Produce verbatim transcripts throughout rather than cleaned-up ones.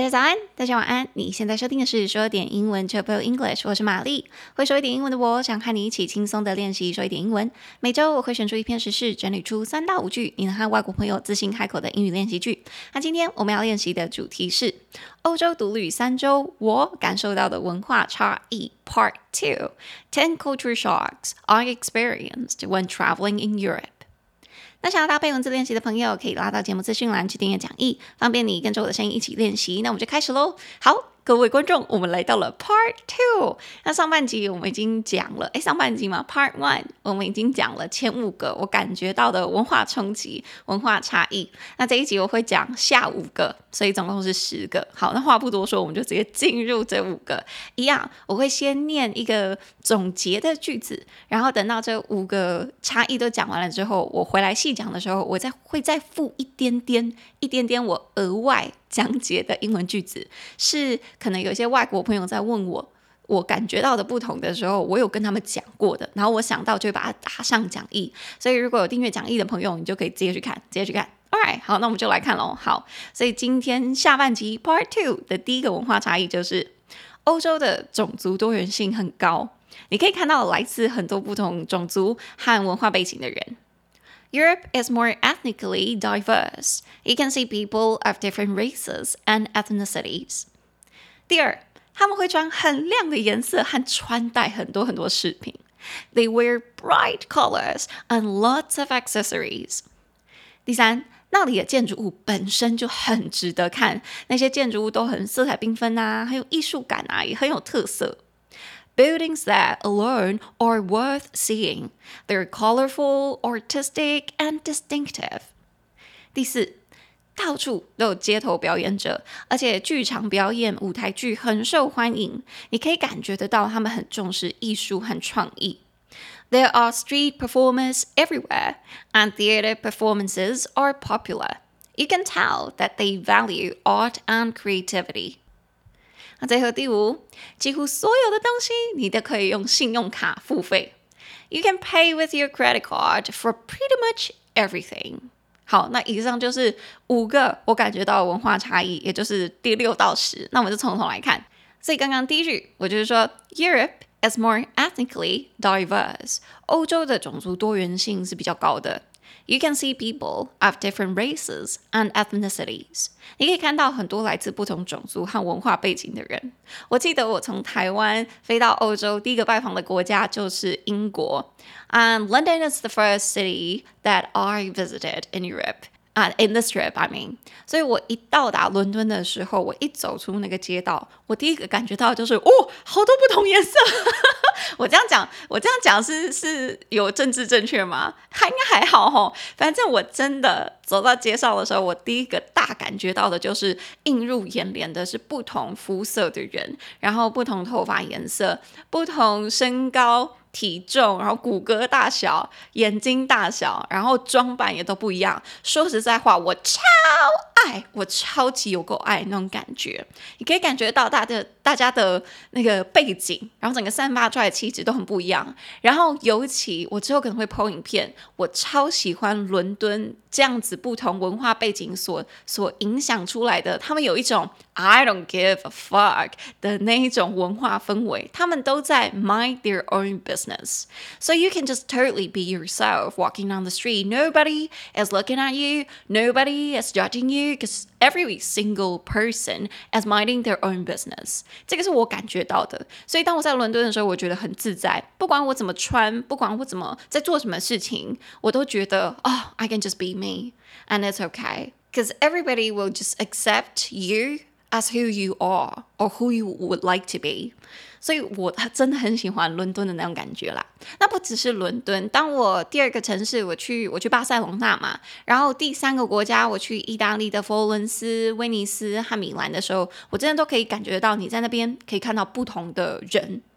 家早安，大家晚安。你現在收聽的是說點英文 Triple English， 我是瑪麗。會說一點英文的我，想和你一起輕鬆的練習說一點英文。每周我會選出一篇時事，整理出三到五句你能和外國朋友自信開口的英語練習句。那今天我們要練習的主題是歐洲獨旅三周，我感受到的文化差異 Part two ten culture shocks I experienced when traveling in Europe。那想要搭配文字練習的朋友，可以拉到節目資訊欄去訂閱講義，方便你跟着我的聲音一起練習。那我們就開始嘍。好，各位觀眾，我們來到了 Part two。那上半集我們已經講了，誒，上半集嘛 Part one 我們已經講了前五個我感覺到的文化衝擊、文化差異。那這一集我會講下五個，所以總共是十個。好，那話不多說，我們就直接進入這五個。一樣，我會先念一個總結的句子，然後等到這五個差異都講完了之後，我回來細講的時候，我再會再附一點點、一點點我額外講解的英文句子，是可能有些外國朋友在問我，我感覺到的不同的時候，我有跟他們講過的，然後我想到就會把它打上講義。所以如果有訂閱講義的朋友，你就可以直接去看，直接去看。Alright， 好，那我們就來看咯。好，所以今天下半集 Part two 的第一個文化差異就是歐洲的種族多元性很高，你可以看到來自很多不同種族和文化背景的人。Europe is more ethnically diverse. You can see people of different races and ethnicities. 第二，他們會穿很亮的顏色和穿戴很多很多飾品。They wear bright colors and lots of accessories. 第三，那裡的建築物本身就很值得看，那些建築物都很色彩繽紛啊，很有藝術感啊，也很有特色。Buildings that alone are worth seeing. They're colorful, artistic, and distinctive. 第四，到處都有街頭表演者，而且劇場表演、舞台劇很受歡迎。你可以感覺得到他們很重視藝術和創意。There are street performers everywhere, and theater performances are popular. You can tell that they value art and creativity.那最後第五，幾乎所有的東西你都可以用信用卡付費。You can pay with your credit card for pretty much everything. 好，那以上就是五個我感覺到的文化差異，也就是第六到十。那我們就從頭來看。所以剛剛第一句，我就是說 Europe is more ethnically diverse. 歐洲的種族多元性是比較高的。You can see people of different races and ethnicities. 你可以看到很多來自不同種族和文化背景的人。我記得我從台灣飛到歐洲，第一個拜訪的國家就是英國。And London is the first city that I visited in Europe. Uh, in this trip, I mean. 所以我一到達倫敦的時候，我一走出那個街道，我第一個感覺到的就是，哦，好多不同顏色。我這樣講，我這樣講是是有政治正確嗎？還應該還好齁。反正我真的走到街上的時候，我第一個大感覺到的就是映入眼簾的是不同膚色的人，然後不同頭髮顏色，不同身高、體重，然後骨骼大小、眼睛大小，然後裝扮也都不一樣。說實在話，我超愛，我超級有夠愛那種感覺。你可以感覺到大家的大家的那個背景，然後整個散發出來的氣質都很不一樣。然後尤其我之後可能會 po 影片，我超喜歡倫敦這樣子不同文化背景所所影響出來的，他們有一種 I don't give a fuck 的那一種文化氛圍，他們都在 mind their own business. So you can just totally be yourself walking down the street. Nobody is looking at you. Nobody is judging you because every single person is minding their own business. 這個是我感覺到的。所以當我在倫敦的時候，我覺得很自在。不管我怎麼穿，不管我怎麼在做什麼事情，我都覺得 Oh, I can just be me. And it's okay. Because everybody will just accept you as who you are or who you would like to be. 所以我真的很喜歡倫敦的那種感覺啦。那不只是倫敦，當我第二個城市我去我去巴塞隆納嘛，然後第三個國家我去意大利的佛羅倫斯、威尼斯和米蘭的時候，我真的都可以感覺到你在那邊可以看到不同的人。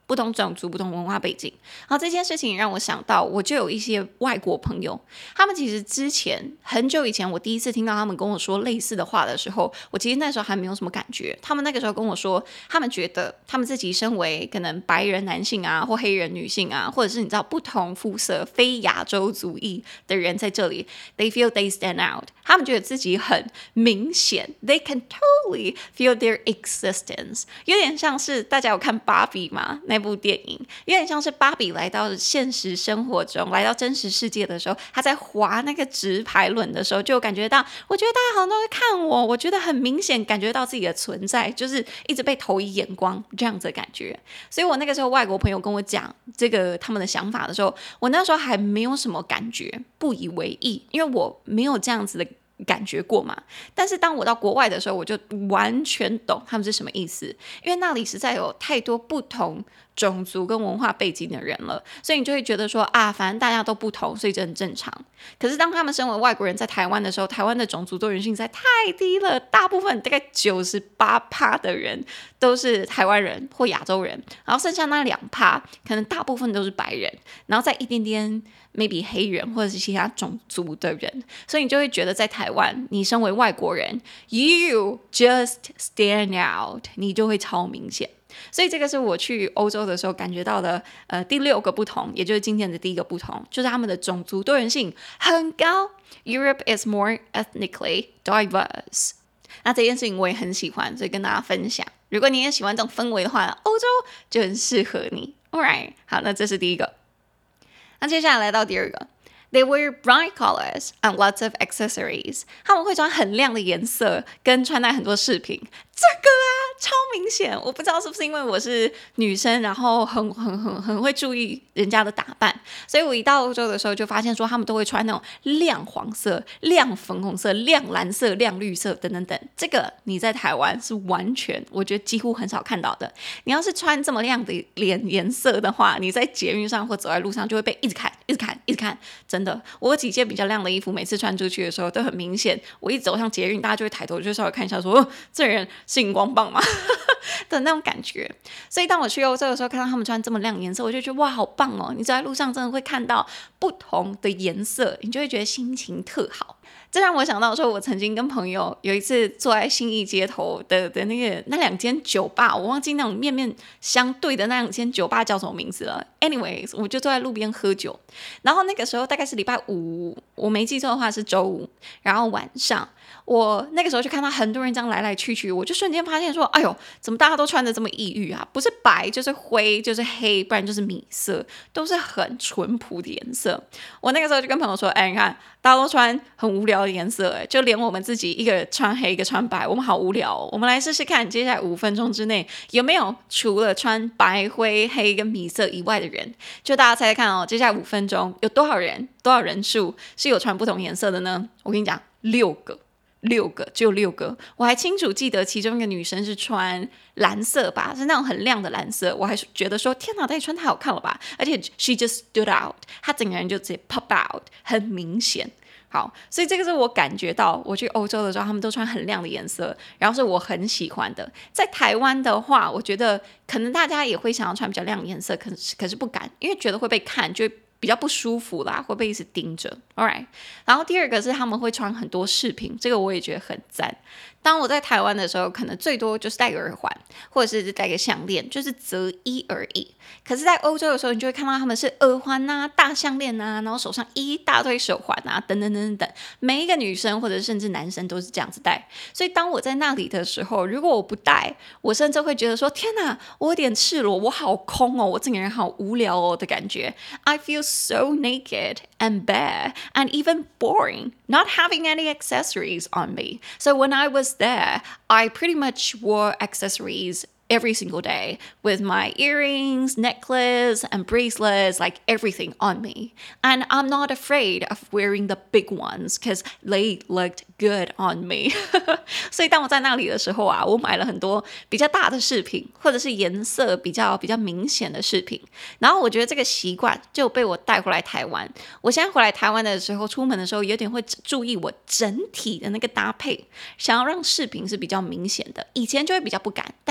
不同種族、不同文化背景。然後這件事情讓我想到，我就有一些外國朋友，他們其實之前很久以前，我第一次聽到他們跟我說類似的話的時候，我其實那時候還沒有什麼感覺。他們那個時候跟我說，他們覺得他們自己身為可能白人男性啊，或黑人女性啊，或者是你知道不同膚色、非亞洲族裔的人在這裡 ，they feel they stand out。他們覺得自己很明顯 ，they can totally feel their existence。有點像是大家有看芭比嗎？那部電影有點像是芭比來到現實生活中，來到真實世界的時候，她在滑那個直排輪的時候，就感覺到，我覺得大家好像都在看我，我覺得很明顯感覺到自己的存在，就是一直被投以眼光這樣子的感覺。所以我那個時候外國朋友跟我講這個他們的想法的時候，我那時候還沒有什麼感覺，不以為意，因為我沒有這樣子的感覺過嘛。但是當我到國外的時候，我就完全懂他們是什麼意思，因為那裡實在有太多不同種族跟文化背景的人了，所以你就會覺得說啊，反正大家都不同，所以這很正常。可是當他們身為外國人在台灣的時候，台灣的種族多元性實在太低了，大部分大概九十八趴的人都是台灣人或亞洲人，然後剩下那兩趴可能大部分都是白人，然後再一點點 maybe 黑人或者是其他種族的人，所以你就會覺得在台灣，你身為外國人 ，you just stand out， 你就會超明顯。所以這個是我去歐洲的時候感覺到的呃第六個不同，也就是今天的第一個不同，就是他們的種族多元性很高。Europe is more ethnically diverse。那這件事情我也很喜歡，所以跟大家分享。如果你也喜歡這種氛圍的話，歐洲就很適合你。Alright， 好，那這是第一個。那接下來來到第二個。They wear bright colors and lots of accessories。他們會穿很亮的顏色，跟穿戴很多飾品。這個啊，超明顯。我不知道是不是因為我是女生，然後很很很很會注意人家的打扮，所以我一到歐洲的時候就發現說，他們都會穿那種亮黃色、亮粉紅色、亮藍色、亮綠色等等等。這個你在台灣是完全，我覺得幾乎很少看到的。你要是穿這麼亮的臉顏色的話，你在捷運上或走在路上就會被一直看、一直看、一直看。真的，我有幾件比較亮的衣服，每次穿出去的時候都很明顯。我一走上捷運，大家就會抬頭，就稍微看一下說，說、哦、這人是熒光棒嗎？的那種感覺。所以當我去歐洲的時候，看到他們穿這麼亮顏色，我就覺得哇，好棒哦！你走在路上真的會看到不同的顏色，你就會覺得心情特好。這讓我想到說，我曾經跟朋友有一次坐在信義街頭的的那個那兩間酒吧，我忘記那種面面相對的那兩間酒吧叫什麼名字了。Anyways， 我就坐在路邊喝酒，然後那個時候大概是禮拜五，我沒記錯的話是週五，然後晚上。我那個時候就看到很多人這樣來來去去，我就瞬間發現說，哎呦，怎麼大家都穿得這麼異域啊？不是白就是灰就是黑，不然就是米色，都是很淳樸的顏色。我那個時候就跟朋友說，哎，你看大家都穿很無聊的顏色，哎，就連我們自己一個穿黑一個穿白，我們好無聊哦。我們來試試看，接下來五分鐘之內有沒有除了穿白灰黑跟米色以外的人？就大家猜猜看哦，接下來五分鐘有多少人多少人數是有穿不同顏色的呢？我跟你講，六個。六個，只有六個。我還清楚記得其中一個女生是穿藍色吧，是那種很亮的藍色。我還覺得說，天哪，她也穿太好看了吧！而且 she just stood out， 她整個人就直接 pop out， 很明顯。好，所以這個是我感覺到我去歐洲的時候，他們都穿很亮的顏色，然後是我很喜歡的。在台灣的話，我覺得可能大家也會想要穿比較亮的顏色，可是可是不敢，因為覺得會被看，就會比較不舒服啦，會被一直盯着。Alright， 然後第二個是他們會穿很多飾品，這個我也覺得很讚。當我在台灣的時候，可能最多就是戴個耳環，或者是戴個項鏈，就是擇一而已。可是，在歐洲的時候，你就會看到他們是耳環啊、大項鏈啊，然後手上一大堆手環啊，等等等等等。每一個女生或者甚至男生都是這樣子戴。所以，當我在那裡的時候，如果我不戴，我甚至會覺得說：天哪，我有點赤裸，我好空哦，我整個人好無聊哦的感覺。I feel so naked and bare and even boring, not having any accessories on me. So when I was there, I pretty much wore accessories every single day with my earrings, necklace, and bracelets, like everything on me. And I'm not afraid of wearing the big ones because they looked good on me. 所以當我在那裡的時候啊，我買了很多比較大的飾品，或者是顏色比較比較明顯的飾品。然後我覺得這個習慣就被我帶回來台灣。我現在回來台灣的時候，出門的時候有點會注意我整體的那個搭配，想要讓飾品是比較明顯的。以前就會比較不敢，但現在就會覺得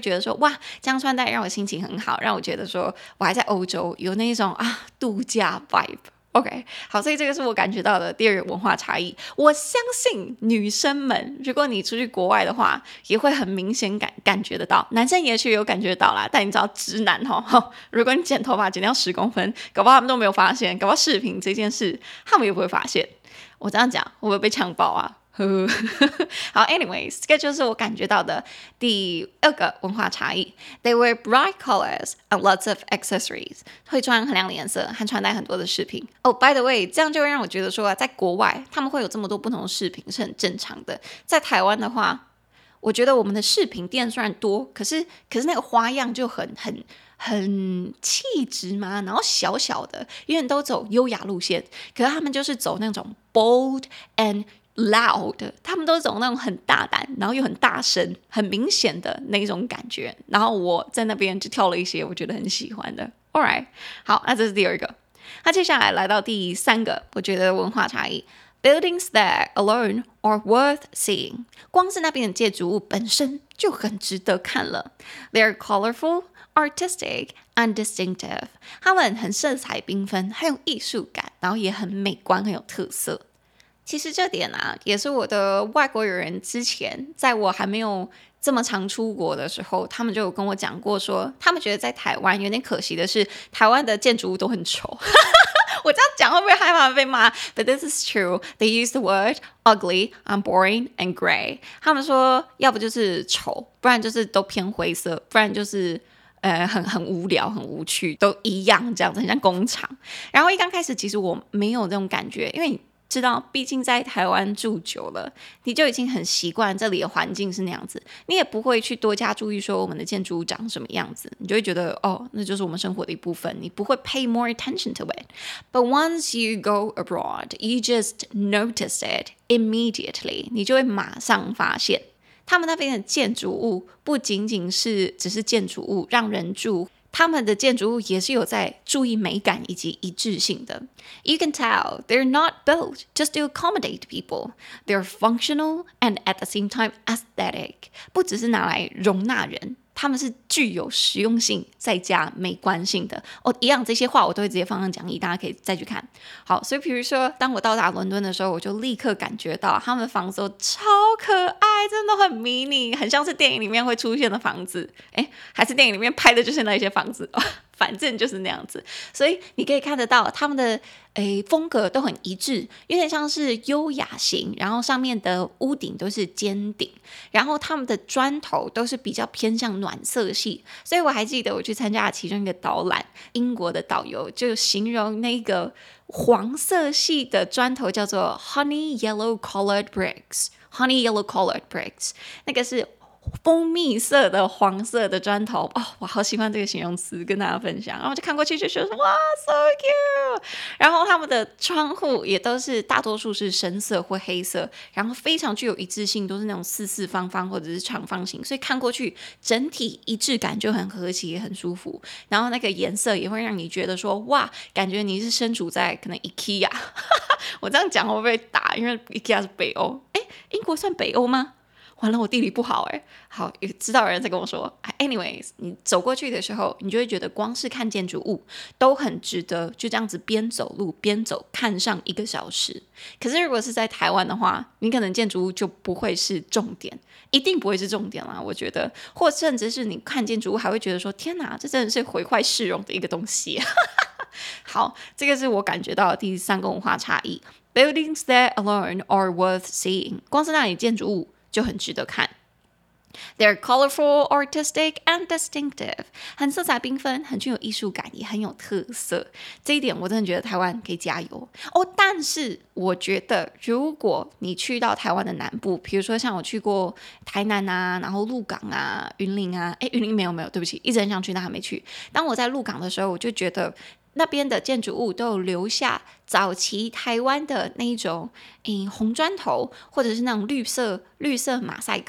覺得說哇，這樣穿戴讓我心情很好，讓我覺得說我還在歐洲，有那種啊度假 vibe。OK， 好，所以這個是我感覺到的第二個文化差異。我相信女生們，如果你出去國外的話，也會很明顯感感覺得到。男生也許有感覺到啦，但你知道直男齁，如果你剪頭髮剪掉十公分，搞不好他們都沒有發現，搞不好視頻這件事他們也不會發現。我這樣講會不會被嗆爆啊？好 anyways 這個就是我感覺到的第二個文化差異。 They wear bright colors and lots of accessories， 會穿很亮的顏色和穿戴很多的飾品。哦、oh, by the way 這樣就會讓我覺得說在國外他們會有這麼多不同的飾品是很正常的。在台灣的話，我覺得我們的飾品店雖然多，可是可是那個花樣就很很很氣質嘛，然後小小的，因為都走優雅路線，可是他們就是走那種 bold and loud， 他們都走那種很大膽，然後又很大聲，很明顯的那種感覺。然後我在那邊就挑了一些我覺得很喜歡的。Alright， 好，那這是第二個。那接下來來到第三個，我覺得文化差異。Buildings that alone are worth seeing， 光是那邊的建築物本身就很值得看了。They're colorful, artistic, and distinctive， 他們很色彩繽紛，很有藝術感，然後也很美觀，很有特色。其實這點啊，也是我的外國友人之前在我還沒有這麼常出國的時候，他們就有跟我講過說，說他們覺得在台灣有點可惜的是，台灣的建築物都很醜。我這樣講會不會害怕被罵 ？But this is true. They use the word ugly, and boring, and gray. 他們說，要不就是醜，不然就是都偏灰色，不然就是呃很很無聊、很無趣，都一樣這樣子，很像工廠。然後一剛開始，其實我沒有這種感覺，因為你知道，畢竟在台灣住久了，你就已經很習慣這裡的環境是那樣子，你也不會去多加注意說我們的建築物長什麼樣子，你就會覺得哦，那就是我們生活的一部分，你不會 pay more attention to it. But once you go abroad, you just notice it immediately. 你就會馬上發現，他們那邊的建築物不僅僅是只是建築物讓人住。他們的建築物也是有在注意美感以及一致性的。You can tell they're not built just to accommodate people. They're functional and at the same time aesthetic. 不只是拿來容納人，他們是具有實用性再加美觀性的。哦，一樣這些話我都會直接放上講義，大家可以再去看。好，所以比如說，當我到達倫敦的時候，我就立刻感覺到他們的房子都超可愛，真的很迷你，很像是電影裡面會出現的房子。誒，還是電影裡面拍的就是那些房子。反正就是那樣子，所以你可以看得到他們的誒風格都很一致，有點像是優雅型，然後上面的屋頂都是尖頂，然後他們的磚頭都是比較偏向暖色系。所以我還記得我去參加了其中一個導覽，英國的導遊就形容那個黃色系的磚頭叫做 honey yellow colored bricks，honey yellow colored bricks， 那個是蜂蜜色的黃色的磚頭哦，我好喜歡這個形容詞，跟大家分享。然後我就看過去就覺得哇 ，so cute。然後他們的窗戶也都是大多數是深色或黑色，然後非常具有一致性，都是那種四四方方或者是長方形，所以看過去整體一致感就很和諧，很舒服。然後那個顏色也會讓你覺得說哇，感覺你是身處在可能 IKEA。我這樣講會不會打？因為 IKEA 是北歐，哎，英國算北歐嗎？完了，我地理不好哎。好，有知道的人在跟我說。Anyways， 你走過去的時候，你就會覺得光是看建築物都很值得，就這樣子邊走路邊走看上一個小時。可是如果是在台灣的話，你可能建築物就不會是重點，一定不會是重點啦。我覺得，或甚至是你看建築物還會覺得說，天哪，這真的是毀壞市容的一個東西。好，這個是我感覺到的第三個文化差異。Buildings that alone are worth seeing， 光是那裡建築物就很值得看。They're colorful, artistic, and distinctive， 很色彩繽紛，很具有藝術感，也很有特色。這一點我真的覺得台灣可以加油哦。但是我覺得，如果你去到台灣的南部，比如說像我去過台南啊，然後鹿港啊、雲林啊，誒，雲林沒有沒有，對不起，一直很想去，但還沒去。當我在鹿港的時候，我就覺得那邊的建築物都有留下早期台灣的那一種，嗯，紅磚頭，或者是那種綠色綠色馬賽克。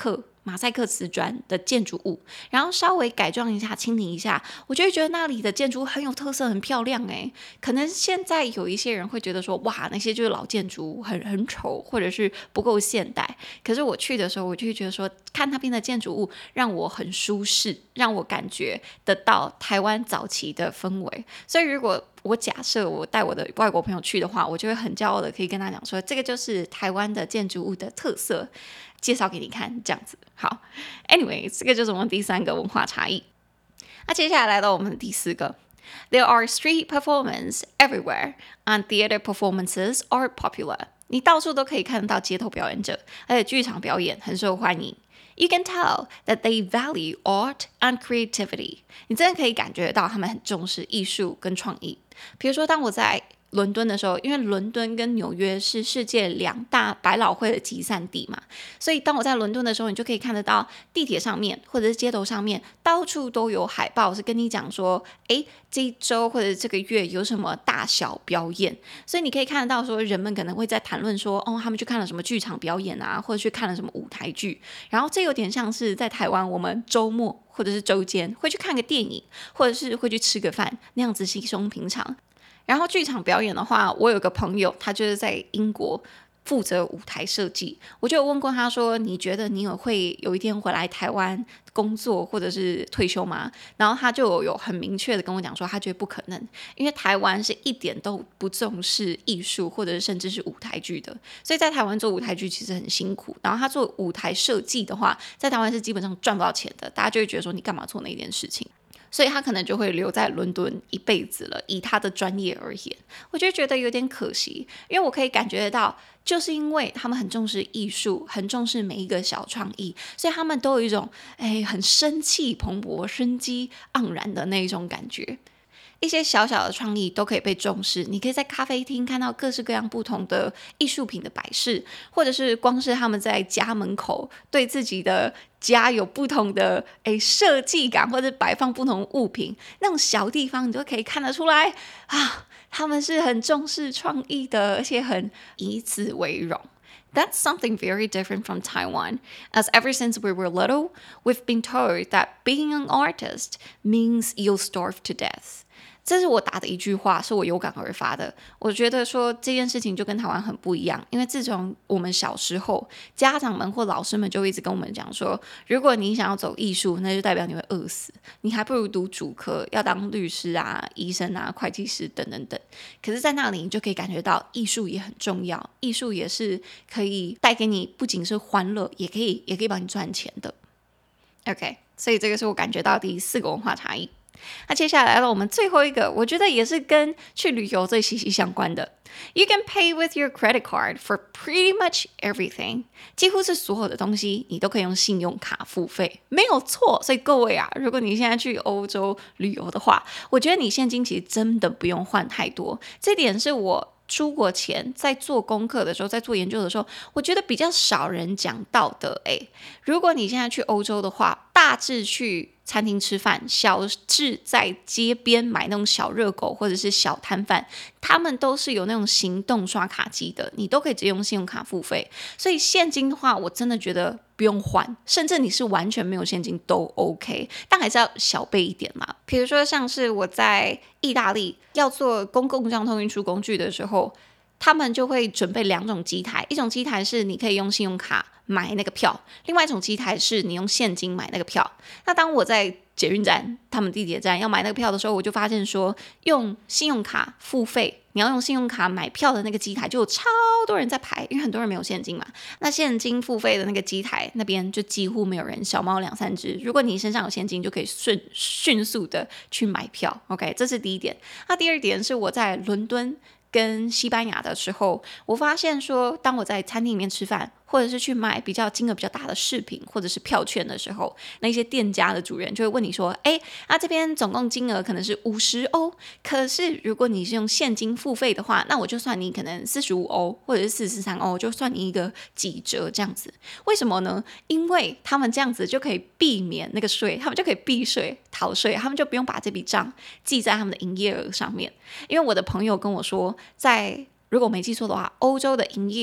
馬賽克瓷磚的建築物，然後稍微改裝一下、清理一下，我就會覺得那裡的建築物很有特色、很漂亮誒。可能現在有一些人會覺得說，哇，那些就是老建築物，很很醜，或者是不夠現代。可是我去的時候，我就會覺得說，看那邊的建築物讓我很舒適，讓我感覺得到台灣早期的氛圍。所以如果我假設我帶我的外國朋友去的話，我就會很驕傲的可以跟他講說，這個就是台灣的建築物的特色，介紹給你看，這樣子。好 ，Anyway， 這個就是我們第三個文化差異。那接下來來到我們的第四個 ，There are street performances everywhere, and theater performances are popular。你到處都可以看得到街頭表演者，而且劇場表演很受歡迎。You can tell that they value art and creativity。你真的可以感覺到他們很重視藝術跟創意。比如說，當我在倫敦的時候，因為倫敦跟紐約是世界兩大百老匯的集散地嘛，所以當我在倫敦的時候，你就可以看得到地鐵上面或者是街頭上面到處都有海報，是跟你講說，誒，這一周或者這個月有什麼大小表演。所以你可以看得到說，人們可能會在談論說，哦，他們去看了什麼劇場表演啊，或者去看了什麼舞台劇。然後這有點像是在台灣，我們周末或者是周間會去看個電影，或者是會去吃個飯，那樣子稀鬆平常。然後劇場表演的話，我有個朋友，他就是在英國負責舞台設計。我就有問過他說，你覺得你有會有一天回來台灣工作或者是退休嗎？然後他就有很明確的跟我講說，他覺得不可能，因為台灣是一點都不重視藝術或者是甚至是舞台劇的，所以在台灣做舞台劇其實很辛苦。然後他做舞台設計的話，在台灣是基本上賺不到錢的，大家就會覺得說，你幹嘛做那件事情？所以他可能就會留在倫敦一輩子了，以他的專業而言，我就覺得有點可惜，因為我可以感覺得到，就是因為他們很重視藝術，很重視每一個小創意，所以他們都有一種哎很生氣蓬勃、生機盎然的那一種感覺。一些小小的創意都可以被重視，你可以在咖啡廳看到各式各樣不同的藝術品的擺飾，或者是光是他們在家門口對自己的家有不同的誒設計感，或者擺放不同物品，那種小地方你都可以看得出來啊，他們是很重視創意的，而且很以此為榮。That's something very different from Taiwan, as ever since we were little, we've been told that being an artist means you'll starve to death. 這是我打的一句話，是我有感而發的。我覺得說這件事情就跟台灣很不一樣，因為自從我們小時候，家長們或老師們就一直跟我們講說，如果你想要走藝術，那就代表你會餓死，你還不如讀主科，要當律師啊、醫生啊、會計師等等等。可是，在那裡你就可以感覺到藝術也很重要，藝術也是可以帶給你不僅是歡樂，也可以也可以幫你賺錢的。OK， 所以這個是我感覺到第四個文化差異。那接下來來到我們最後一個，我覺得也是跟去旅遊最息息相關的。You can pay with your credit card for pretty much everything。幾乎是所有的東西，你都可以用信用卡付費，沒有錯。所以各位啊，如果你現在去歐洲旅遊的話，我覺得你現金其實真的不用換太多。這點是我出國前在做功課的時候，在做研究的時候，我覺得比較少人講到的。誒，如果你現在去歐洲的話，大致去餐廳吃飯，小至在街邊買那種小熱狗或者是小攤販，他們都是有那種行動刷卡機的，你都可以直接用信用卡付費。所以現金的話，我真的覺得不用換，甚至你是完全沒有現金都 OK， 但還是要小備一點嘛。比如說像是我在意大利要坐公共交通運輸工具的時候，他們就會準備兩種機台，一種機台是你可以用信用卡買那個票，另外一種機台是你用現金買那個票。那當我在捷運站、他們地鐵站要買那個票的時候，我就發現說，用信用卡付費，你要用信用卡買票的那個機台就有超多人在排，因為很多人沒有現金嘛。那現金付費的那個機台那邊就幾乎沒有人，小貓兩三隻。如果你身上有現金，就可以迅迅速的去買票。OK， 這是第一點。那第二點是我在倫敦跟西班牙的時候，我發現說，當我在餐廳裡面吃飯，或者是去買比較金額比較大的飾品或者是票券的時候，那些店家的主人就會問你說，哎，那這邊總共金額可能是五十歐，可是如果你是用現金付費的話，那我就算你可能四十五歐或者是四十三歐，就算你一個幾折這樣子。為什麼呢？因為他們這樣子就可以避免那個稅，他們就可以避稅逃稅，他們就不用把這筆賬記在他們的營業額上面。因為我的朋友跟我說，在如果我沒記錯的話，歐洲的營業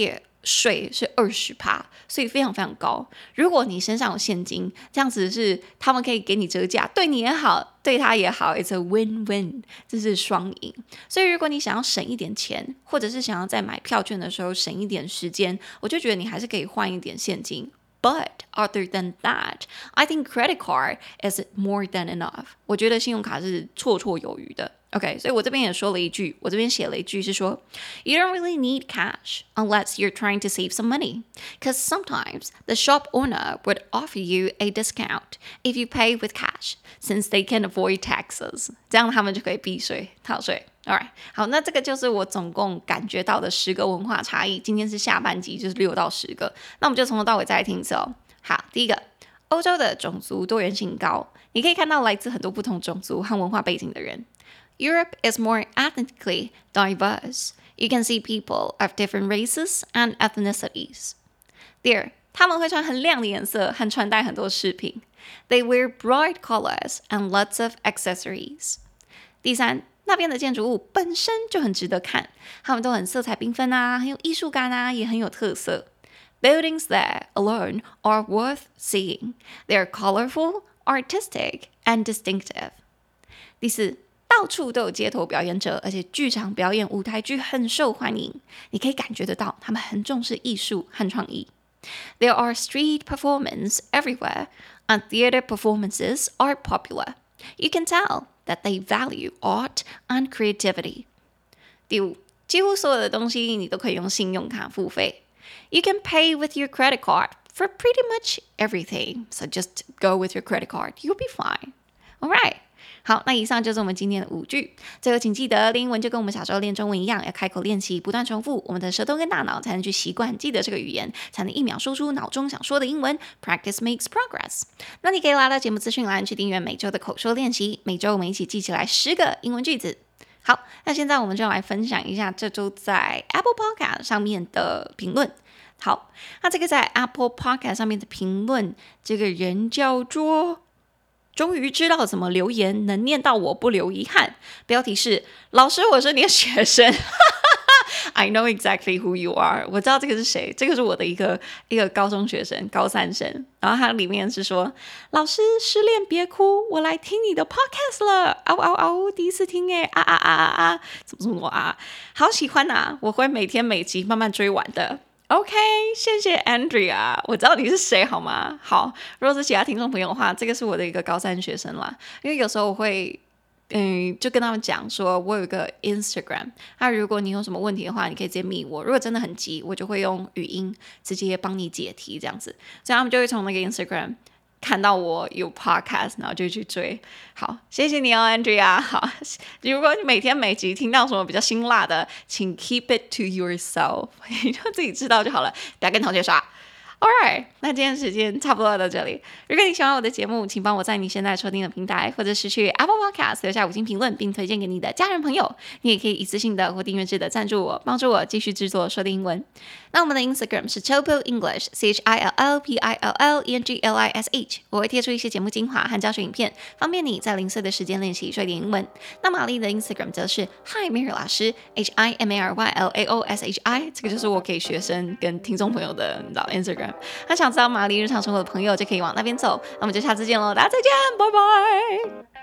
稅是二十趴，所以非常非常高。如果你身上有現金，這樣子是他們可以給你折價，對你也好，對他也好 ，it's a win-win， 這是雙贏。所以如果你想要省一點錢，或者是想要在買票券的時候省一點時間，我就覺得你還是可以換一點現金。But other than that, I think credit card is more than enough. 我覺得信用卡是綽綽有餘的。OK， 所以我這邊也說了一句，我這邊寫了一句是說 You don't really need cash unless you're trying to save some money. Because sometimes the shop owner would offer you a discount if you pay with cash, since they can avoid taxes. 這樣他們就可以避稅、逃稅。Alright， 好，那這個就是我總共感覺到的十個文化差異。今天是下半集，就是六到十個。那我們就從頭到尾再來聽一次哦。好，第一個，歐洲的種族多元性高，你可以看到來自很多不同種族和文化背景的人。Europe is more ethnically diverse. You can see people of different races and ethnicities. 第二，他們會穿很亮的顏色和穿戴很多飾品。They wear bright colors and lots of accessories. 第三，那邊的建築物本身就很值得看，他們都很色彩繽紛啊，很有藝術感啊，也很有特色。Buildings there alone are worth seeing. They are colorful, artistic, and distinctive. 第四，到處都有街頭表演者，而且劇場表演舞台劇很受歡迎，你可以感覺得到他們很重視藝術和創意。There are street performances everywhere, and theater performances are popular. You can tell that they value art and creativity. 第五，幾乎所有的東西你都可以用信用卡付費。You can pay with your credit card for pretty much everything, so just go with your credit card. You'll be fine. All right. 好，那以上就是我們今天的五句。最後，請記得練英文就跟我們小時候練中文一樣，要開口練習，不斷重複，我們的舌頭跟大腦才能去習慣記得這個語言，才能一秒說出腦中想說的英文。Practice makes progress。那你可以拉到節目資訊欄去訂閱每周的口說練習，每周我們一起記起來十個英文句子。好，那現在我們就來分享一下這周在 Apple Podcast 上面的評論。好，那這個在 Apple Podcast 上面的評論，這個人叫做終於知道怎麼留言能念到我不留遺憾。標題是老師，我是你的學生。I know exactly who you are。我知道這個是誰，這個是我的一個一個高中學生，高三生。然後他裡面是說，老師失戀別哭，我來聽你的 podcast 了。嗷嗷嗷，第一次聽哎，啊啊啊啊啊，怎麼這麼多啊？好喜歡啊，我會每天每集慢慢追完的。OK， 謝謝 Andrea， 我知道你是誰好嗎？好，如果是其他聽眾朋友的話，這個是我的一個高三學生啦。因為有時候我會，嗯，就跟他們講說，我有一個 Instagram， 那如果你有什麼問題的話，你可以直接密我。如果真的很急，我就會用語音直接幫你解題這樣子，所以他們就會從那個 Instagram看到我有 podcast， 然後就去追。好，謝謝你哦 Andrea。好，如果你每天每集聽到什麼比較辛辣的，請 keep it to yourself， 你就自己知道就好了，不要跟同學說。Alright， 那今天時間差不多到這裡。如果你喜歡我的節目，請幫我在你現在收聽的平台，或者是去 Apple Podcast 留下五星評論，並推薦給你的家人朋友。你也可以一次性的或訂閱制的贊助我，幫助我繼續製作說的英文。那我們的 Instagram 是 Chill Pill English C H I L L P I L L E N G L I S H， 我會貼出一些節目精華和教學影片，方便你在零碎的時間練習說一點英文。那瑪麗的 Instagram 則是 Hi Mary 老師 H I M A R Y L A O S H I， 這個就是我給學生跟聽眾朋友的你知道 Instagram。那想知道瑪麗日常生活的朋友就可以往那邊走。那我們就下次見嘍，大家再見，拜拜。